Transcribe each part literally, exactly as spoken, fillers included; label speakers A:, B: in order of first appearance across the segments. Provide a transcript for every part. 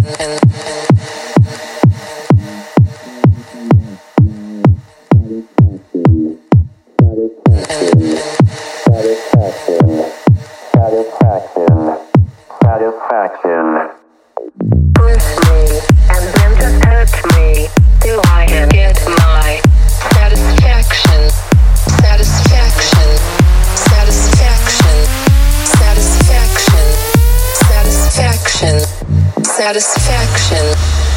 A: Satisfaction.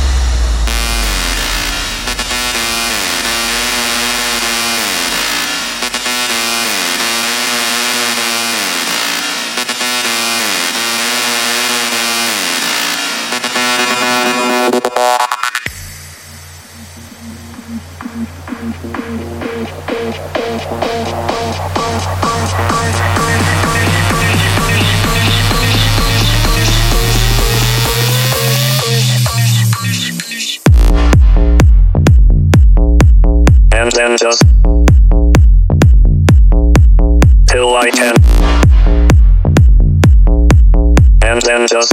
B: And then just till I can, and then just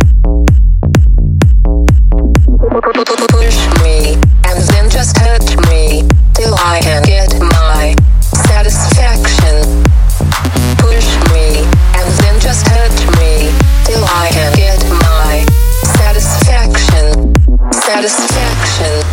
A: push me, and then just touch me till I can get my satisfaction. Push me, and then just touch me till I can get my satisfaction. Satisfaction.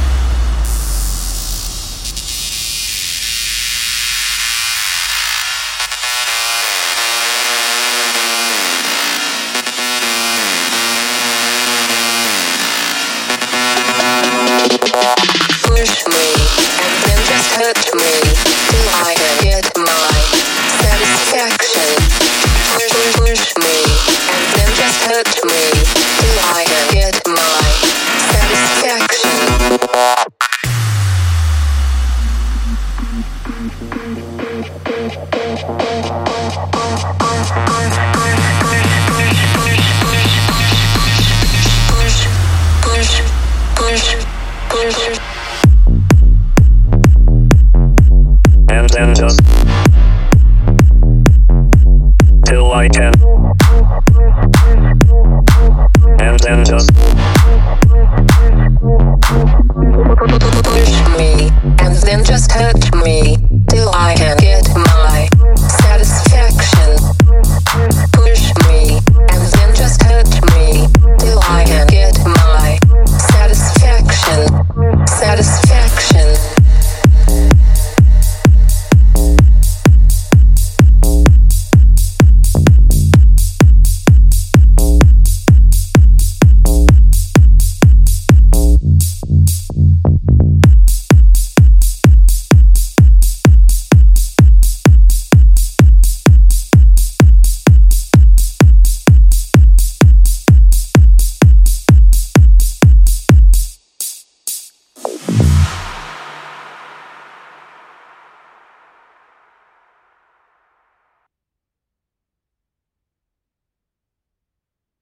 A: Push me, and then just touch me till I can get my satisfaction. Push, push me, and then just touch me till I can get my satisfaction. Push, push, push.
B: and then just till I can, and then just